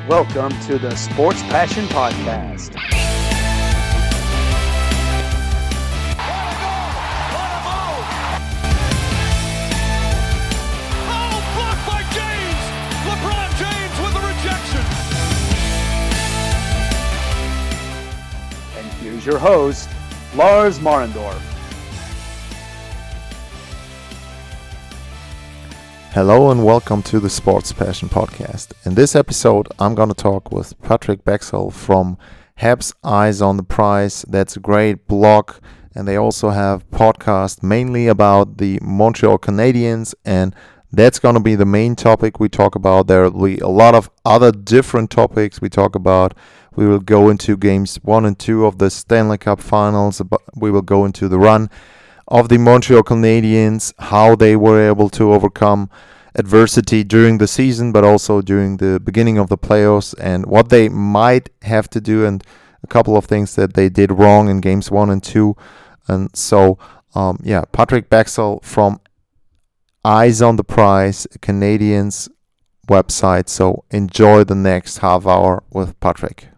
Welcome to the Sports Passion Podcast. Oh, blocked by James! LeBron James with the rejection. And here's your host, Lars Marendorf. Hello and welcome to the Sports Passion Podcast. In this episode, I'm going to talk with Patrick Bexell from Habs Eyes on the Prize. That's a great blog, and they also have podcasts mainly about the Montreal Canadiens, and that's going to be the main topic we talk about. There will be a lot of other different topics we talk about. We will go into games 1 and 2 of the Stanley Cup Finals. We will go into the run of the Montreal Canadiens, how they were able to overcome adversity during the season, but also during the beginning of the playoffs, and what they might have to do, and a couple of things that they did wrong in games 1 and 2. And so, Patrick Bexell from Eyes on the Prize, Canadiens website. So enjoy the next half hour with Patrick.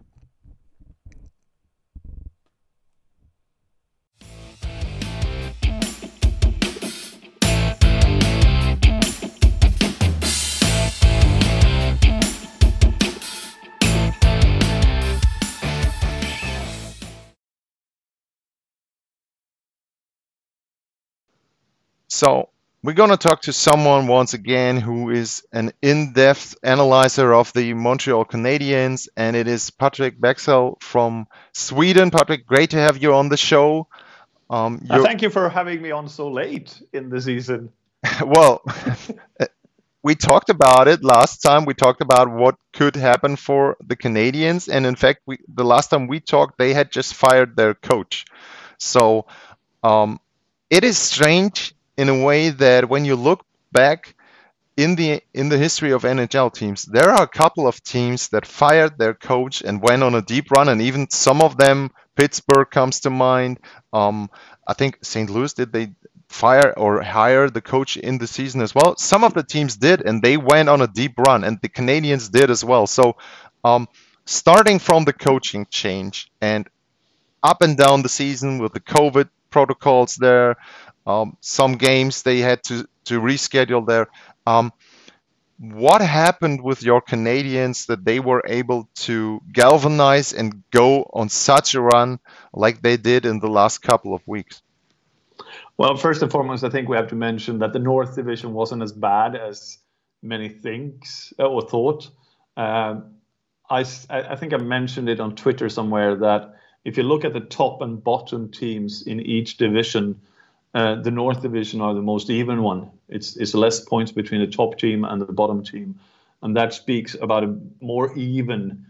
So we're going to talk to someone once again who is an in-depth analyzer of the Montreal Canadiens, and it is Patrick Bexell from Sweden. Patrick, great to have you on the show. Thank you for having me on so late in the season. Well, we talked about it last time. We talked about what could happen for the Canadiens, and in fact, the last time we talked, they had just fired their coach. So it is strange in a way that when you look back in the history of NHL teams, there are a couple of teams that fired their coach and went on a deep run, and even some of them, Pittsburgh comes to mind. I think St. Louis, did they fire or hire the coach in the season as well? Some of the teams did, and they went on a deep run, and the Canadiens did as well. So starting from the coaching change and up and down the season with the COVID protocols there, some games they had to reschedule there. What happened with your Canadiens that they were able to galvanize and go on such a run like they did in the last couple of weeks? Well, first and foremost, I think we have to mention that the North Division wasn't as bad as many think or thought. I think I mentioned it on Twitter somewhere that if you look at the top and bottom teams in each division, the North Division are the most even one. It's less points between the top team and the bottom team. And that speaks about a more even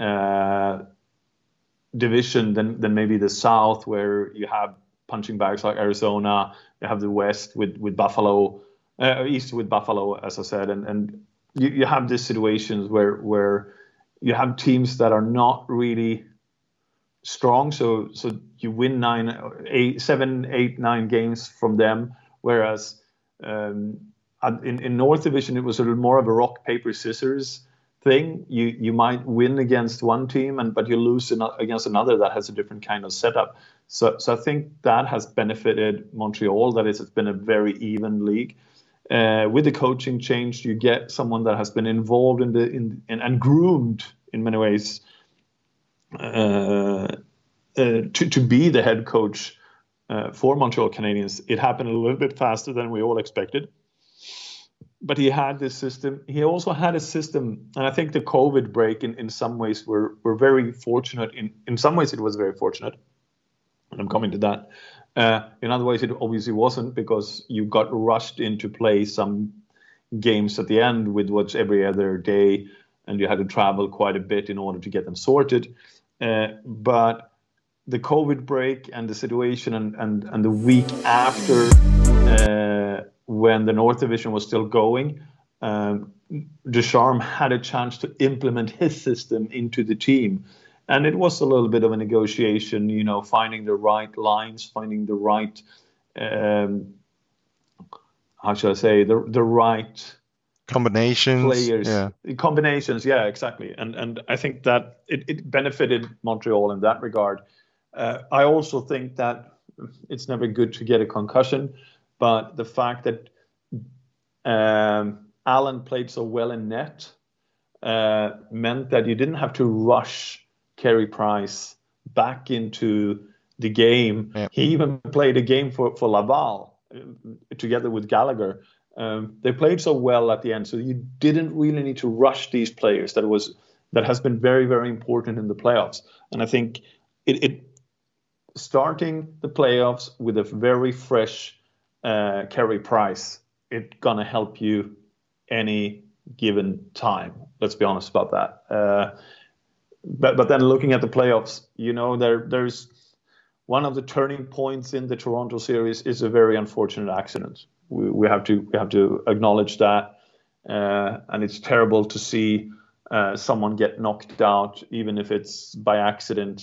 division than maybe the South, where you have punching bags like Arizona. You have the West with Buffalo, East with Buffalo, as I said. And you have these situations where you have teams that are not really strong, so you win 7, 8, 9 games from them, whereas in North Division it was a little more of a rock paper scissors thing. You might win against one team, but you lose against another that has a different kind of setup. So I think that has benefited Montreal. That is, it's been a very even league. With the coaching change, you get someone that has been involved and groomed in many ways to be the head coach for Montreal Canadiens. It happened a little bit faster than we all expected, but he had this system. He also had a system, and I think the COVID break in some ways were very fortunate. In some ways it was very fortunate, and I'm coming to that. In other ways it obviously wasn't, because you got rushed into play some games at the end with what's every other day, and you had to travel quite a bit in order to get them sorted. But the COVID break and the situation and the week after, when the North Division was still going, Ducharme had a chance to implement his system into the team. And it was a little bit of a negotiation, finding the right lines, finding the right, how should I say, the right combinations. players, Yeah. combinations. Yeah, exactly. And I think that it benefited Montreal in that regard. I also think that it's never good to get a concussion, but the fact that Allen played so well in net meant that you didn't have to rush Carey Price back into the game. Yeah. He even played a game for Laval together with Gallagher. They played so well at the end, so you didn't really need to rush these players. That has been very, very important in the playoffs. And I think it starting the playoffs with a very fresh Carey Price, it's gonna help you any given time. Let's be honest about that. But then looking at the playoffs, there's one of the turning points in the Toronto series is a very unfortunate accident. We have to acknowledge that, and it's terrible to see someone get knocked out, even if it's by accident.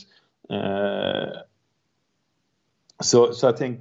So I think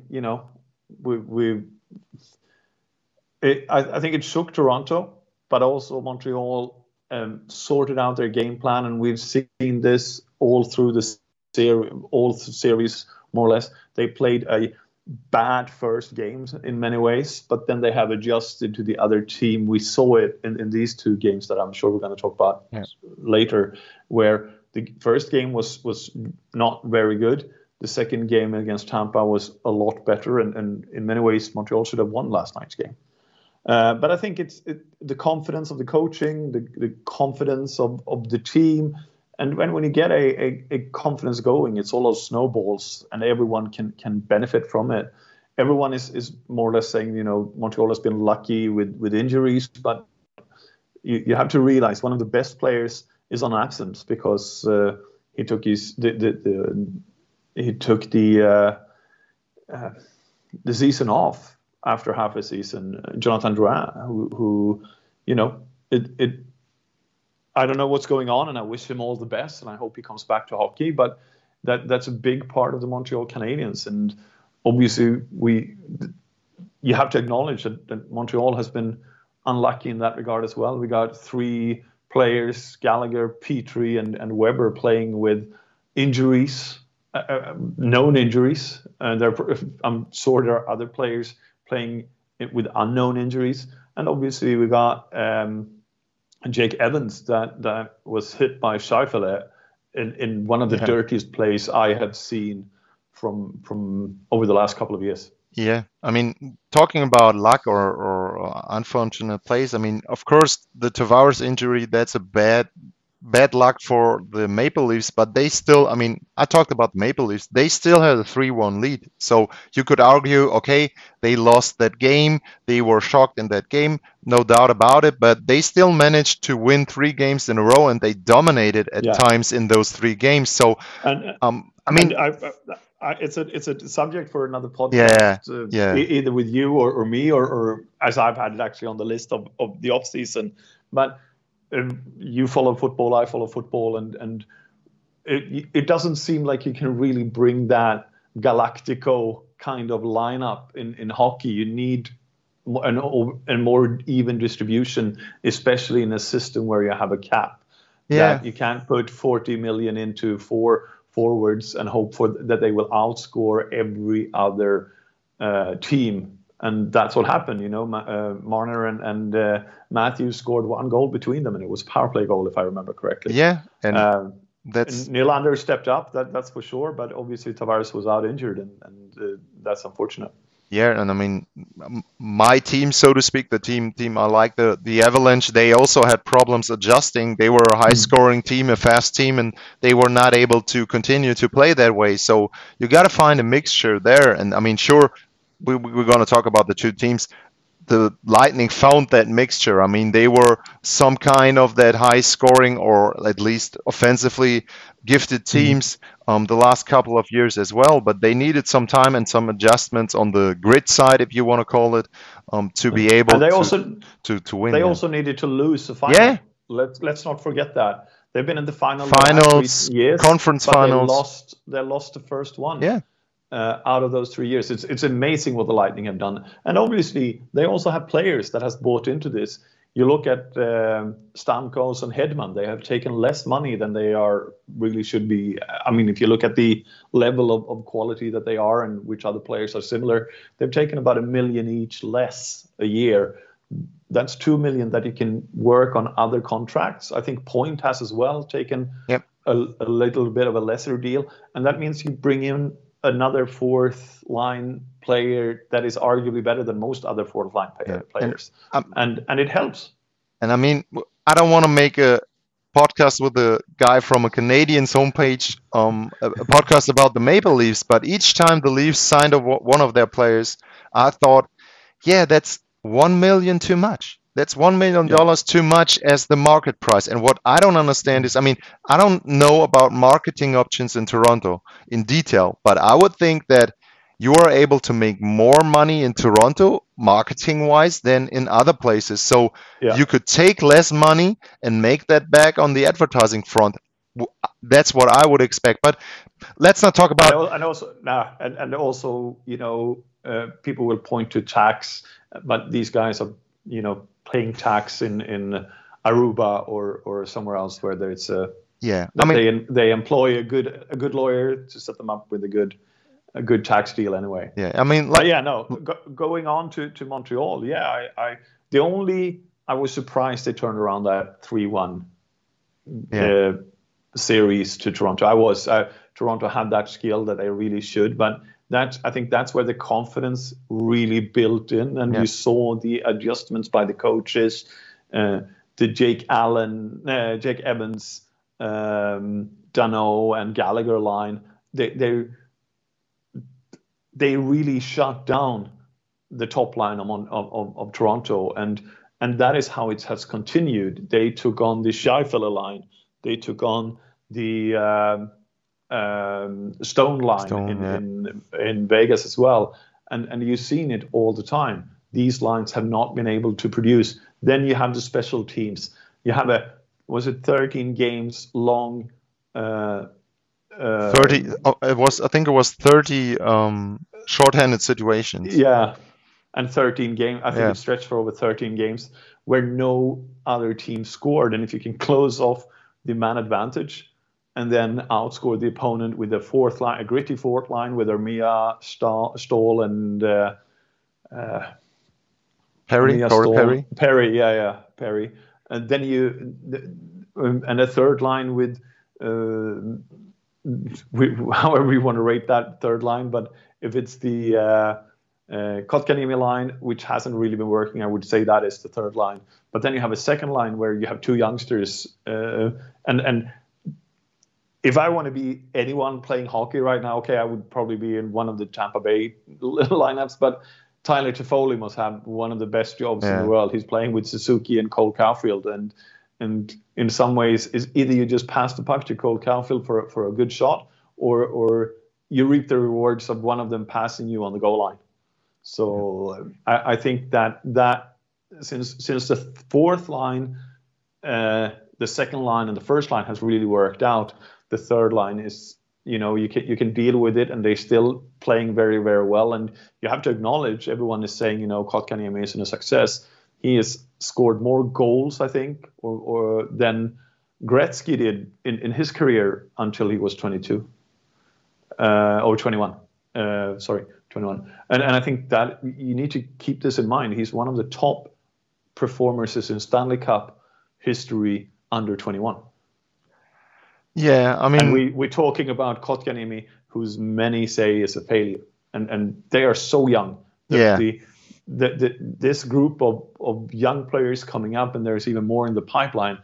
I think it shook Toronto, but also Montreal sorted out their game plan, and we've seen this all through the series more or less. They played a bad first games in many ways, but then they have adjusted to the other team. We saw it in these two games that I'm sure we're going to talk about later, where the first game was not very good. The second game against Tampa was a lot better, and in many ways Montreal should have won last night's game. But I think it's the confidence of the coaching, the confidence of the team. And when you get a confidence going, it's all those snowballs, and everyone can benefit from it. Everyone is more or less saying, Montreal has been lucky with injuries, but you have to realize one of the best players is on absence because he took the season off after half a season. Jonathan Drouin, who I don't know what's going on, and I wish him all the best, and I hope he comes back to hockey. But that's a big part of the Montreal Canadiens, and obviously you have to acknowledge that Montreal has been unlucky in that regard as well. We got three players, Gallagher, Petrie, and Weber, playing with injuries, known injuries. I'm sure there are other players playing with unknown injuries, and obviously we got Jake Evans that was hit by Scheifele in one of the dirtiest plays I have seen from over the last couple of years. Yeah, I mean, talking about luck or unfortunate plays, I mean, of course, the Tavares injury, that's a bad luck for the Maple Leafs, but they still, I mean, I talked about the Maple Leafs, they still had a 3-1 lead. So you could argue, okay, they lost that game, they were shocked in that game, no doubt about it, but they still managed to win 3 games in a row, and they dominated at times in those 3 games. So, I mean, it's a subject for another podcast, either with you or me, or as I've had it actually on the list of the off season, but. You follow football, I follow football, and it doesn't seem like you can really bring that Galactico kind of lineup in hockey. You need a more even distribution, especially in a system where you have a cap. Yeah. That you can't put 40 million into 4 forwards and hope that they will outscore every other team. And that's what happened, Marner and Matthews scored 1 goal between them, and it was a power play goal, if I remember correctly. Yeah, and and Nylander stepped up, that's for sure, but obviously Tavares was out injured, and that's unfortunate. Yeah, and I mean, my team, so to speak, the team I like, the Avalanche, they also had problems adjusting. They were a high-scoring team, a fast team, and they were not able to continue to play that way. So you got to find a mixture there, and I mean, sure, we're going to talk about the two teams. The Lightning found that mixture. I mean, they were some kind of that high scoring, or at least offensively gifted teams the last couple of years as well, but they needed some time and some adjustments on the grit side, if you want to call it, to be able to win. They also needed to lose the final. Yeah. Let's not forget that. They've been in the finals, years, conference finals. They lost the first one. Yeah. Out of those 3 years. It's amazing what the Lightning have done. And obviously, they also have players that has bought into this. You look at Stamkos and Hedman; they have taken less money than they really should be. I mean, if you look at the level of quality that they are and which other players are similar, they've taken about $1 million each less a year. That's $2 million that you can work on other contracts. I think Point has as well taken a little bit of a lesser deal, and that means you bring in another fourth line player that is arguably better than most other fourth line players, and it helps. And I mean, I don't want to make a podcast with a guy from a Canadiens homepage, a podcast about the Maple Leafs, but each time the Leafs signed one of their players, I thought, yeah, that's $1 million too much. That's $1 million too much as the market price. And what I don't understand is, I mean, I don't know about marketing options in Toronto in detail, but I would think that you are able to make more money in Toronto marketing-wise than in other places. So you could take less money and make that back on the advertising front. That's what I would expect. But let's not talk about. And also, you know, people will point to tax, but these guys are, you know, paying tax in Aruba or somewhere else where there's I mean, they employ a good lawyer to set them up with a good tax deal anyway. Yeah, I mean, going on to Montreal. Yeah, I was surprised they turned around that 3-1 series to Toronto. Toronto had that skill that they really should, but I think that's where the confidence really built in, and you saw the adjustments by the coaches, the Jake Evans, Danault, and Gallagher line. They really shut down the top line of Toronto, and that is how it has continued. They took on the Scheifele line, they took on the Stone line in Vegas as well, and you've seen it all the time. These lines have not been able to produce. Then you have the special teams. You have 13 games long? 30. I think it was 30 shorthanded situations. Yeah, and 13 games. I think it stretched for over 13 games where no other team scored. And if you can close off the man advantage and then outscore the opponent with a gritty fourth line with Armia, Stahl, and Perry. Perry. And then and a third line with however you want to rate that third line, but if it's the Kotkaniemi line, which hasn't really been working, I would say that is the third line. But then you have a second line where you have two youngsters, and if I want to be anyone playing hockey right now, I would probably be in one of the Tampa Bay lineups, but Tyler Toffoli must have one of the best jobs in the world. He's playing with Suzuki and Cole Caulfield, and in some ways, is either you just pass the puck to Cole Caulfield for a good shot, or you reap the rewards of one of them passing you on the goal line. So I think that since the fourth line, the second line, and the first line has really worked out, the third line is, you can deal with it, and they're still playing very, very well. And you have to acknowledge, everyone is saying, Kotkaniemi is a success. He has scored more goals, I think, or than Gretzky did in his career until he was 22 or 21. 21. And I think that you need to keep this in mind. He's one of the top performers in Stanley Cup history under 21. Yeah, I mean, and we're talking about Kotkaniemi, whose many say is a failure, and they are so young. This group of young players coming up, and there's even more in the pipeline.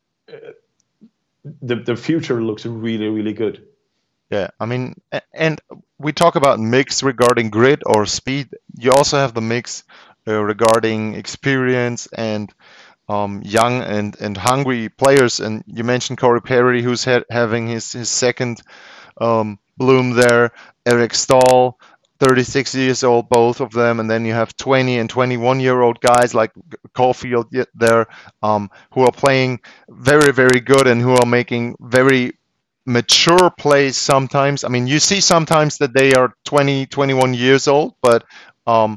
The future looks really, really good. Yeah, I mean, and we talk about mix regarding grit or speed. You also have the mix regarding experience and young and hungry players. And you mentioned Corey Perry, who's having his second bloom there. Eric Stahl, 36 years old, both of them. And then you have 20 and 21-year-old guys like Caulfield there, who are playing very, very good and who are making very mature plays sometimes. I mean, you see sometimes that they are 20, 21 years old, but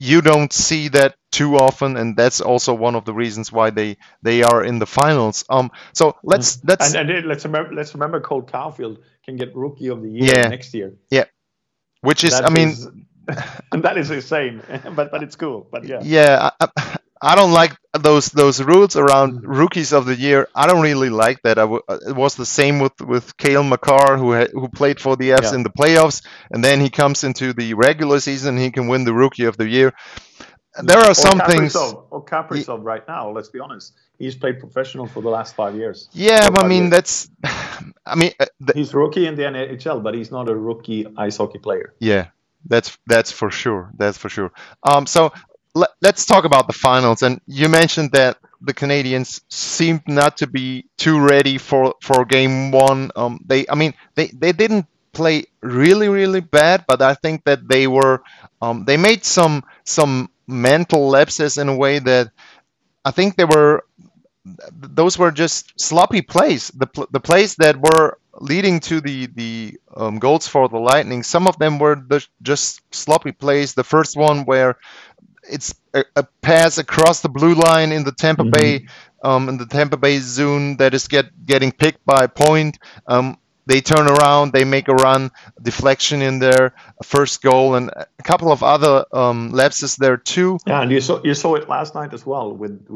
you don't see that too often, and that's also one of the reasons why they are in the finals. So let's let's remember Cole Caulfield can get Rookie of the Year next year. Yeah, which is and that is insane, but it's cool. But yeah. Yeah, I don't like those rules around rookies of the year. I don't really like that. It was the same with Cale Makar, who played for the Fs in the playoffs, and then he comes into the regular season, he can win the rookie of the year. There are some things. Or Kaprizov right now. Let's be honest. He's played professional for the last 5 years. Yeah, I mean that's. I mean, he's rookie in the NHL, but he's not a rookie ice hockey player. Yeah, that's for sure. That's for sure. So let's talk about the finals. And you mentioned that the Canadiens seemed not to be too ready for game one. They didn't play really bad, but I think that they were. They made some mental lapses in a way that I think those were just sloppy plays. The plays that were leading to the goals for the Lightning, some of them were just sloppy plays. The first one where it's a pass across the blue line in the Tampa Bay zone that is getting picked by Point. They turn around, they make a run, deflection in there, first goal, and a couple of other lapses there too. Yeah, and you saw it last night as well with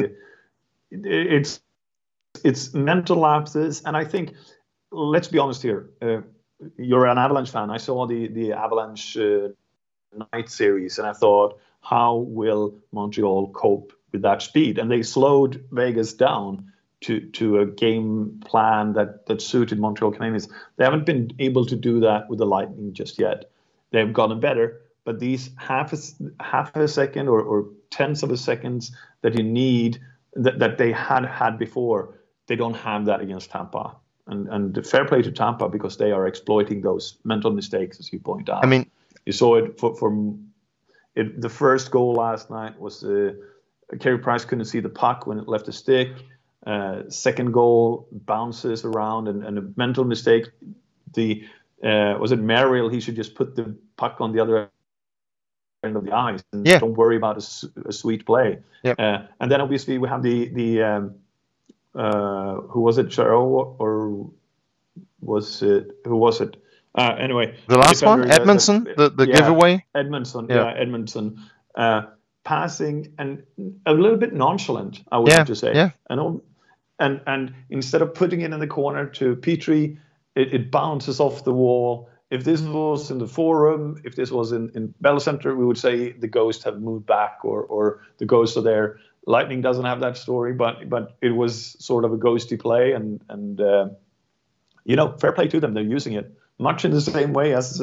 it's mental lapses, and I think, let's be honest here, you're an Avalanche fan. I saw the Avalanche night series, and I thought, how will Montreal cope with that speed? And they slowed Vegas down to a game plan that suited Montreal Canadiens. They haven't been able to do that with the Lightning just yet. They've gotten better, but these half a second or tenths of a seconds that you need that they had before, they don't have that against Tampa. And fair play to Tampa, because they are exploiting those mental mistakes, as you point out. I mean, you saw it the first goal last night was Carey Price couldn't see the puck when it left the stick. Second goal bounces around and a mental mistake. Was it Merrill? He should just put the puck on the other end of the ice and don't worry about a sweet play. Yep. And then obviously we have the who was it, Charo, or was it, who was it? Anyway, the last one, Edmundson, the giveaway. Edmundson, passing and a little bit nonchalant, I would have to say. Yeah. And instead of putting it in the corner to Petrie, it bounces off the wall. If this was in the Forum, if this was in Bell Center, we would say the Ghosts have moved back or the Ghosts are there. Lightning doesn't have that story, but it was sort of a ghosty play, and fair play to them. They're using it much in the same way as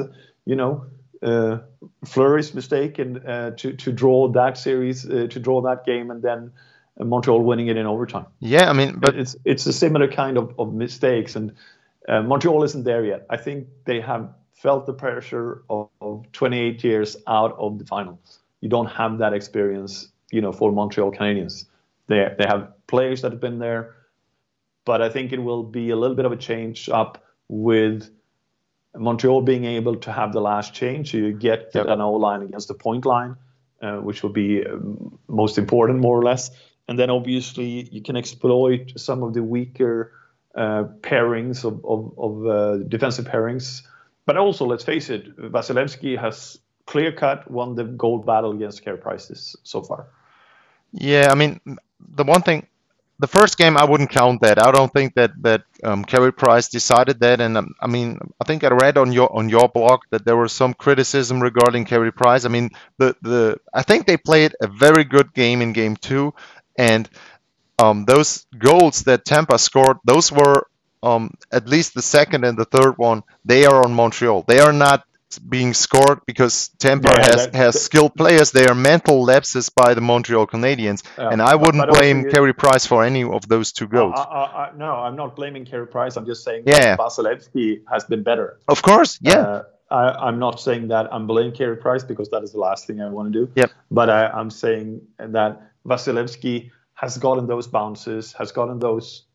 Fleury's mistake and to draw that series, to draw that game, and then Montreal winning it in overtime. Yeah, I mean, but it's a similar kind of mistakes, and Montreal isn't there yet. I think they have felt the pressure of 28 years out of the final. You don't have that experience, for Montreal Canadiens. They have players that have been there, but I think it will be a little bit of a change up with Montreal being able to have the last change. So you get an O-line against the point line, which will be most important, more or less. And then obviously you can exploit some of the weaker pairings of defensive pairings. But also, let's face it, Vasilevsky has clear-cut won the gold battle against Carey Price so far. Yeah, I mean, the first game, I wouldn't count that. I don't think that Carey Price decided that. And I think I read on your blog that there was some criticism regarding Carey Price. I mean, I think they played a very good game in game 2, and those goals that Tampa scored, those were at least the second and the third one. They are on Montreal. They are not being scored because Tampa has skilled players. They are mental lapses by the Montreal Canadiens, and I wouldn't blame Carey Price for any of those two goals. No, I'm not blaming Carey Price. I'm just saying that Vasilevsky has been better. Of course, I'm not saying that I'm blaming Carey Price, because that is the last thing I want to do. Yep. But I'm saying that Vasilevsky has gotten those bounces, has gotten those,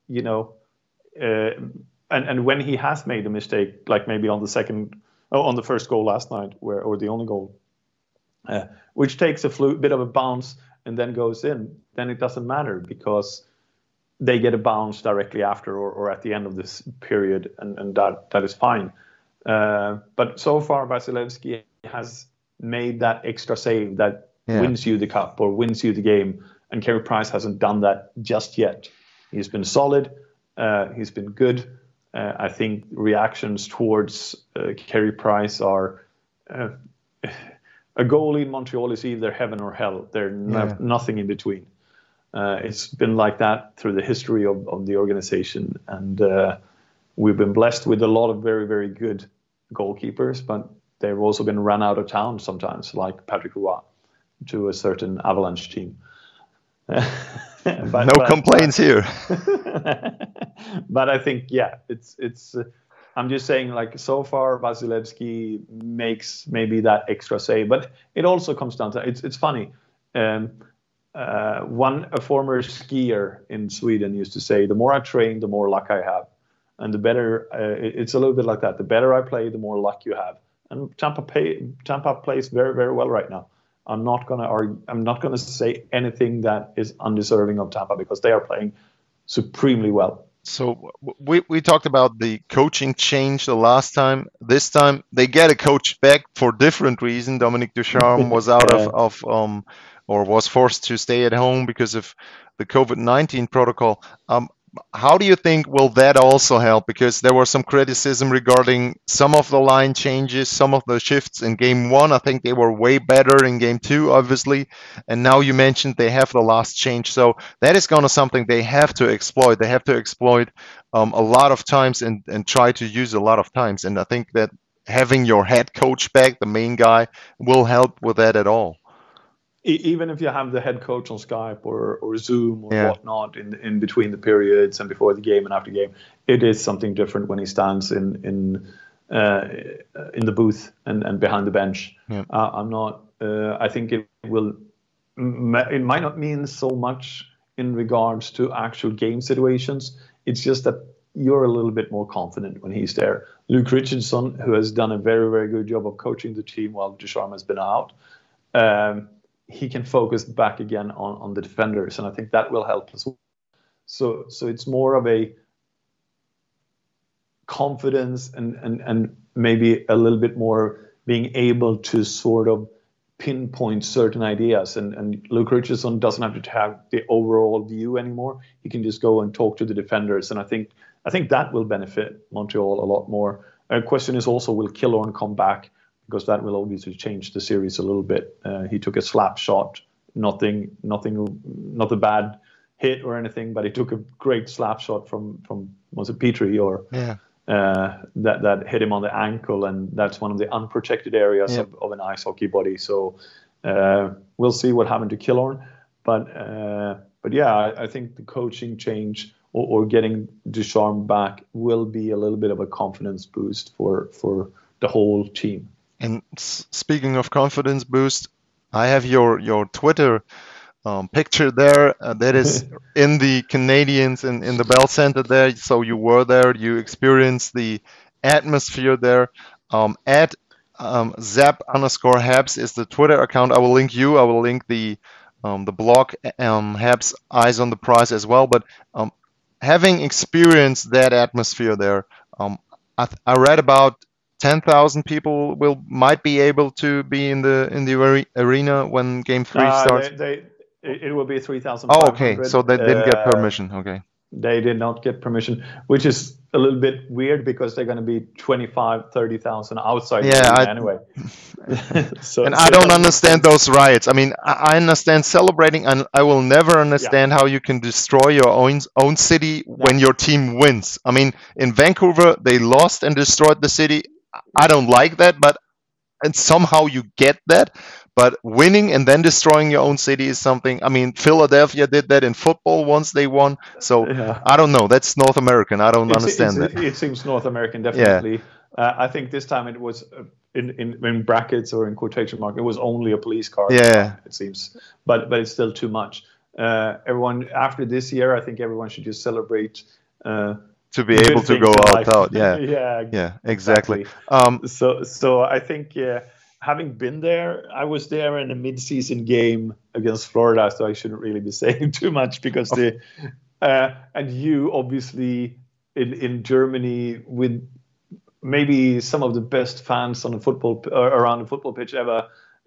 and when he has made a mistake, like maybe on the first goal last night, or the only goal, which takes a bit of a bounce and then goes in, then it doesn't matter because they get a bounce directly after or at the end of this period, and that is fine. But so far, Vasilevsky has made that extra save that wins you the cup or wins you the game, and Carey Price hasn't done that just yet. He's been solid. He's been good. I think reactions towards Carey Price are a goalie in Montreal is either heaven or hell. There's nothing in between. It's been like that through the history of the organization, and we've been blessed with a lot of very, very good goalkeepers, but they've also been run out of town sometimes, like Patrick Roy to a certain Avalanche team. No complaints here. But I think, it's. I'm just saying, like, so far Vasilevsky makes maybe that extra save, but it also comes down to it's funny. A former skier in Sweden used to say, "The more I train, the more luck I have," and the better. It's a little bit like that. The better I play, the more luck you have. And Tampa plays very, very well right now. I'm not gonna say anything that is undeserving of Tampa because they are playing supremely well. So we talked about the coaching change the last time. This time they get a coach back for different reason. Dominique Ducharme was out or was forced to stay at home because of the COVID-19 protocol. How do you think will that also help? Because there was some criticism regarding some of the line changes, some of the shifts in game 1. I think they were way better in game 2, obviously. And now you mentioned they have the last change. So that is going to something they have to exploit. They have to exploit a lot of times and try to use a lot of times. And I think that having your head coach back, the main guy, will help with that at all. Even if you have the head coach on Skype or Zoom or whatnot in between the periods and before the game and after game, it is something different when he stands in the booth and behind the bench. Yeah. I think it might not mean so much in regards to actual game situations. It's just that you're a little bit more confident when he's there. Luke Richardson, who has done a very, very good job of coaching the team while Ducharme has been out, he can focus back again on the defenders, and I think that will help as well. So it's more of a confidence and maybe a little bit more being able to sort of pinpoint certain ideas. And Luke Richardson doesn't have to have the overall view anymore. He can just go and talk to the defenders, and I think that will benefit Montreal a lot more. A question is also, will Killorn come back? Because that will obviously change the series a little bit. He took a slap shot, not a bad hit or anything, but he took a great slap shot from was it Petrie or that hit him on the ankle, and that's one of the unprotected areas of an ice hockey body. So we'll see what happened to Killorn, but I think the coaching change or getting Ducharme back will be a little bit of a confidence boost for the whole team. And speaking of confidence boost, I have your Twitter picture there. That is in the Canadiens in the Bell Center there. So you were there. You experienced the atmosphere there. At Zap_Habs is the Twitter account. I will link you. I will link the blog Habs Eyes on the Prize as well. But having experienced that atmosphere there, I read about 10,000 people might be able to be in the arena when Game 3 starts. It will be 3,500. Oh, okay. So they didn't get permission. Okay. They did not get permission, which is a little bit weird because they're going to be 30,000 outside the arena anyway. And I don't understand those riots. I mean, I understand celebrating, and I will never understand how you can destroy your own city when your team wins. I mean, in Vancouver, they lost and destroyed the city. I don't like that, and somehow you get that. But winning and then destroying your own city is something. I mean, Philadelphia did that in football once they won. So I don't know. That's North American. I don't understand that. It seems North American, definitely. Yeah. I think this time it was in brackets or in quotation mark. It was only a police car. Yeah, it seems. But it's still too much. Everyone after this year, I think everyone should just celebrate. To be able to go out. Yeah. Yeah. Yeah. Exactly. So I think having been there, I was there in a mid-season game against Florida, so I shouldn't really be saying too much because and you obviously in Germany with maybe some of the best fans on the football around the football pitch ever.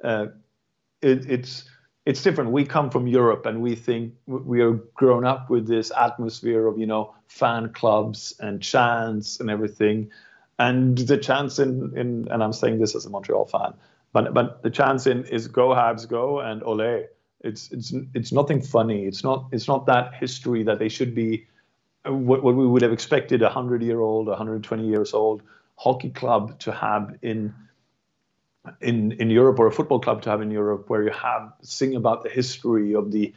It's different. We come from Europe, and we think we are grown up with this atmosphere of fan clubs and chants and everything. And the chants in and I'm saying this as a Montreal fan, but the chants in is "Go Habs Go" and "Ole." It's nothing funny. It's not that history that they should be. What we would have expected a 100-year-old, 120 years old hockey club to have in Europe, or a football club to have in Europe, where you sing about the history of the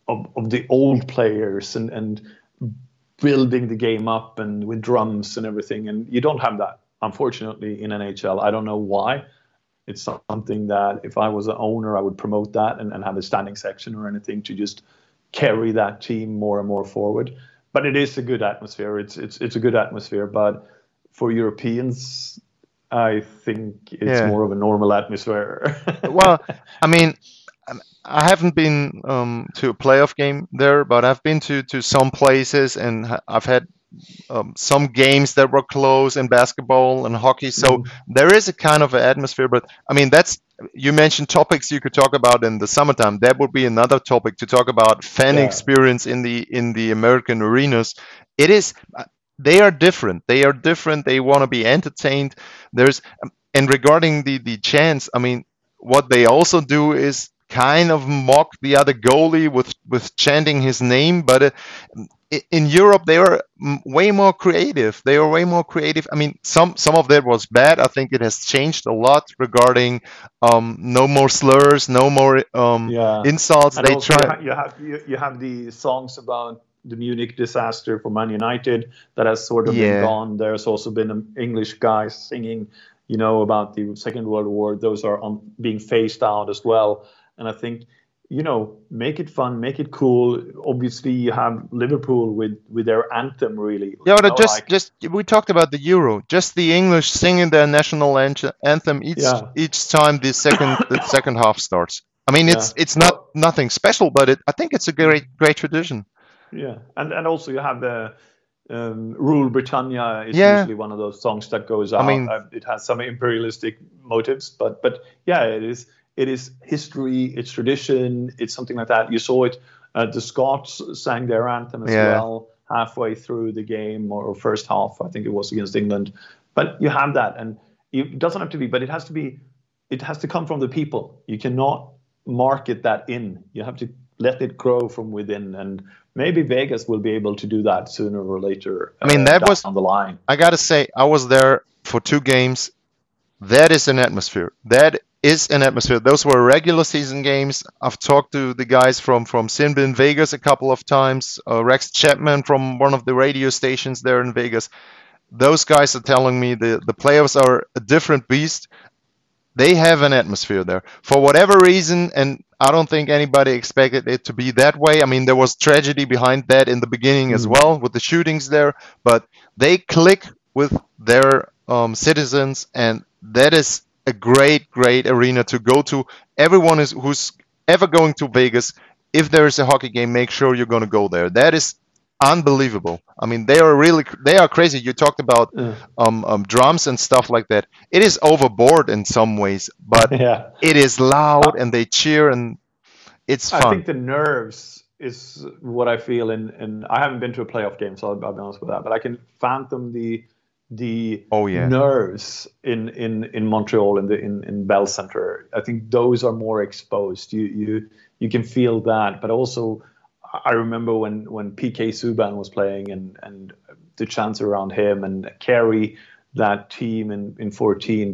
old players and building the game up and with drums and everything. And you don't have that, unfortunately, in NHL. I don't know why. It's something that if I was an owner, I would promote that and have a standing section or anything to just carry that team more and more forward. But it is a good atmosphere. It's a good atmosphere. But for Europeans, I think it's more of a normal atmosphere. Well, I mean, I haven't been to a playoff game there, but I've been to some places, and I've had some games that were close in basketball and hockey. So there is a kind of an atmosphere. But I mean, you mentioned topics you could talk about in the summertime. That would be another topic to talk about fan experience in the American arenas. It is. They are different. They want to be entertained. And regarding the chants, I mean, what they also do is kind of mock the other goalie with chanting his name. But in Europe, they are way more creative. I mean, some of that was bad. I think it has changed a lot regarding no more slurs, no more insults. And also you have the songs about the Munich disaster for Man United that has sort of been gone. There's also been English guys singing, about the Second World War. Those are being phased out as well. And I think, make it fun, make it cool. Obviously, you have Liverpool with their anthem, really. Yeah, but we talked about the Euro. Just the English singing their national anthem each time the second half starts. I mean, it's not nothing special, but I think it's a great tradition. Yeah, and also you have the Rule Britannia is usually one of those songs that goes out. I mean, it has some imperialistic motives, but yeah, it is history, it's tradition, it's something like that. You saw it. The Scots sang their anthem as well halfway through the game or first half. I think it was against England. But you have that, and it doesn't have to be, but it has to come from the people. You cannot market that in. You have to let it grow from within, and maybe Vegas will be able to do that sooner or later. I mean, that was on the line. I gotta say, I was there for 2 games. That is an atmosphere. Those were regular season games. I've talked to the guys from Simba in Vegas a couple of times. Rex Chapman from one of the radio stations there in Vegas. Those guys are telling me the playoffs are a different beast. They have an atmosphere there. For whatever reason, and I don't think anybody expected it to be that way. I mean, there was tragedy behind that in the beginning as well with the shootings there, but they click with their citizens, and that is a great arena to go to. Everyone who's ever going to Vegas, if there is a hockey game, make sure you're going to go there. That is unbelievable. I mean, they are crazy. You talked about drums and stuff like that. It is overboard in some ways, but it is loud and they cheer and it's fun. I think the nerves is what I feel in I haven't been to a playoff game, so I'll be honest with that, but I can fathom the nerves in Montreal in Bell Center. I think those are more exposed. You can feel that, but also I remember when PK Subban was playing and the chants around him and carry that team in 14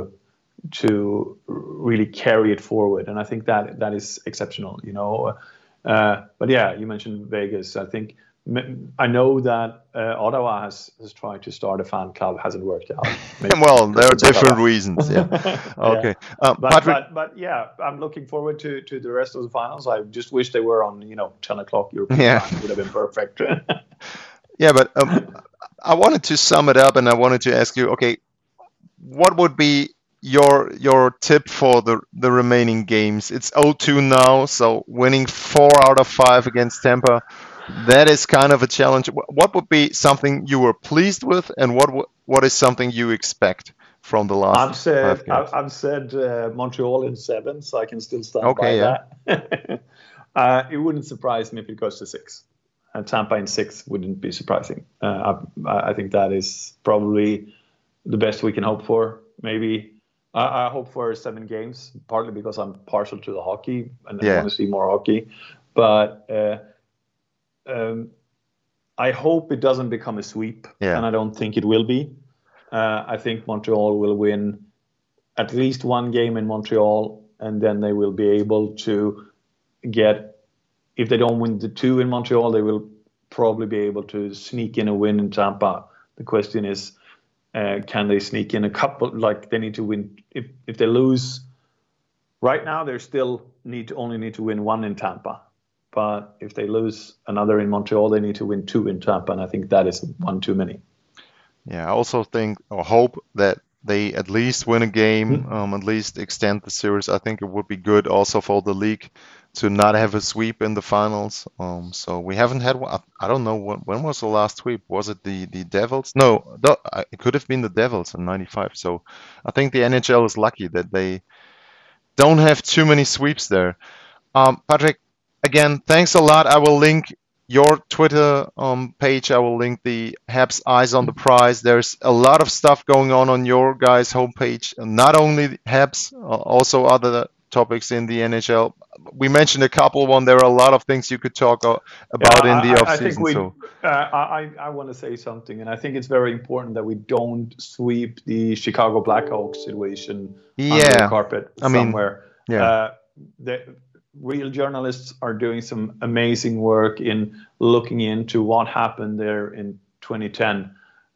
to really carry it forward. And I think that is exceptional, But yeah, you mentioned Vegas. I know that Ottawa has tried to start a fan club, hasn't worked out. Well, there are different reasons. Yeah. Okay. But yeah, I'm looking forward to the rest of the finals. I just wish they were on 10 o'clock European time. It would have been perfect. Yeah, but I wanted to sum it up, and I wanted to ask you, okay, what would be your tip for the remaining games? It's 0-2 now, so winning 4 out of 5 against Tampa, that is kind of a challenge. What would be something you were pleased with, and what is something you expect from the last I've said 5 games? I've said Montreal in 7, so I can still stand Okay, by that. It wouldn't surprise me if it goes to 6. Tampa in 6 wouldn't be surprising. I think that is probably the best we can hope for. Maybe I hope for 7 games, partly because I'm partial to the hockey and I Yeah. want to see more hockey. But I hope it doesn't become a sweep, Yeah. and I don't think it will be. I think Montreal will win at least 1 game in Montreal, and then they will be able to get, if they don't win the 2 in Montreal, they will probably be able to sneak in a win in Tampa. The question is, can they sneak in a couple? Like, they need to win. If they lose right now, they still only need to win 1 in Tampa. But if they lose another in Montreal, they need to win 2 in Tampa, and I think that is 1 too many. Yeah, I also think or hope that they at least win a game, at least extend the series. I think it would be good also for the league to not have a sweep in the finals. So we haven't had one. I don't know when was the last sweep. Was it the Devils? No, it could have been the Devils in '95. So I think the NHL is lucky that they don't have too many sweeps there. Patrick, again, thanks a lot. I will link your Twitter page. I will link the Habs Eyes on the Prize. There's a lot of stuff going on your guys' homepage. Not only Habs, also other topics in the NHL. We mentioned a couple. There are a lot of things you could talk about in the I think offseason. I want to say something, and I think it's very important that we don't sweep the Chicago Blackhawks situation under the carpet somewhere. The real journalists are doing some amazing work in looking into what happened there in 2010.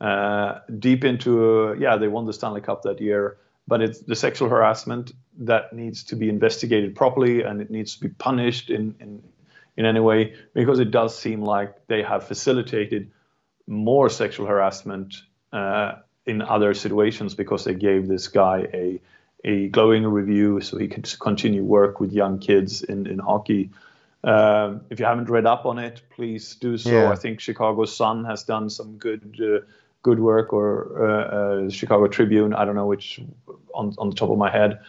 Deep into, they won the Stanley Cup that year, but it's the sexual harassment that needs to be investigated properly, and it needs to be punished in any way, because it does seem like they have facilitated more sexual harassment in other situations, because they gave this guy a glowing review so he could continue work with young kids in hockey. If you haven't read up on it, please do so. Yeah. I think Chicago Sun has done some good work, or Chicago Tribune. I don't know which on the top of my head.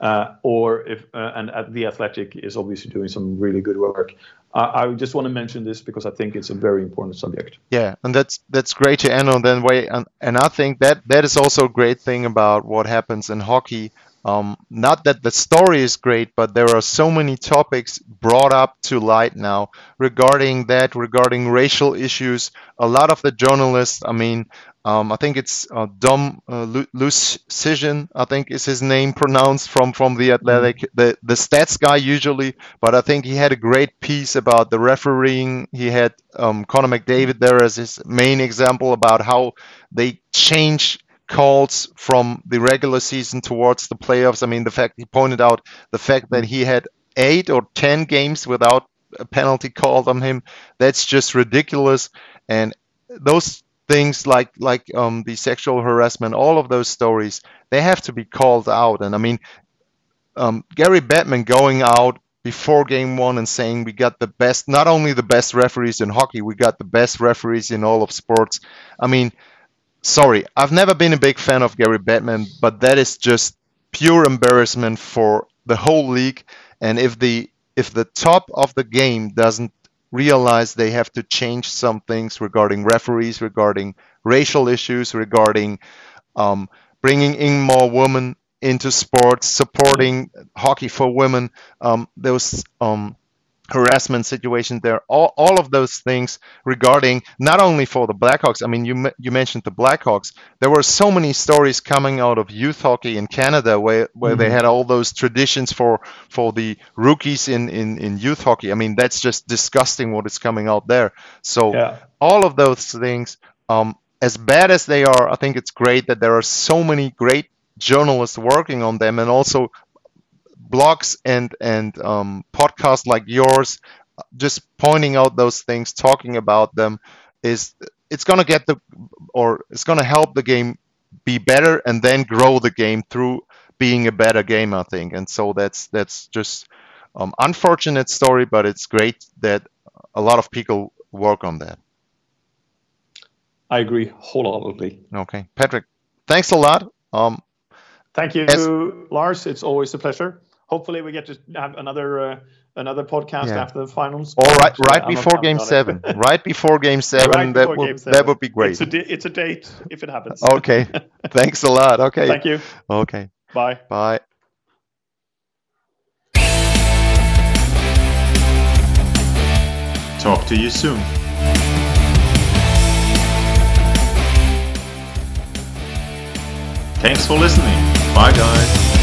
And at The Athletic is obviously doing some really good work. I just want to mention this because I think it's a very important subject. Yeah, and that's great to end on that way. And I think that is also a great thing about what happens in hockey. Not that the story is great, but there are so many topics brought up to light now regarding racial issues. A lot of the journalists, I think it's Dom Lucian, I think is his name pronounced, from The Athletic, the stats guy usually, but I think he had a great piece about the refereeing. He had Connor McDavid there as his main example about how they change calls from the regular season towards the playoffs. He pointed out the fact that he had 8 or 10 games without a penalty called on him. That's just ridiculous. And those things like the sexual harassment, all of those stories, they have to be called out. And Gary Bettman going out before game 1 and saying we got the best, not only the best referees in hockey, we got the best referees in all of sports. Sorry, I've never been a big fan of Gary Bettman, but that is just pure embarrassment for the whole league. And if the top of the game doesn't realize they have to change some things regarding referees, regarding racial issues, regarding bringing in more women into sports, supporting hockey for women, those harassment situations there, all of those things regarding not only for the Blackhawks. You mentioned the Blackhawks. There were so many stories coming out of youth hockey in Canada where they had all those traditions for the rookies in youth hockey. That's just disgusting what is coming out there. So all of those things, as bad as they are, I think it's great that there are so many great journalists working on them, and also blogs and podcasts like yours, just pointing out those things, talking about them, it's going to help the game be better, and then grow the game through being a better game, I think. And so that's just unfortunate story, but it's great that a lot of people work on that. I agree wholeheartedly. Okay, Patrick, thanks a lot. Thank you, Lars. It's always a pleasure. Hopefully, we get to have another podcast after the finals. All right, right before Game 7. Right before Game 7. That would be great. It's a date if it happens. Okay. Thanks a lot. Okay. Thank you. Okay. Bye. Bye. Talk to you soon. Thanks for listening. Bye, guys.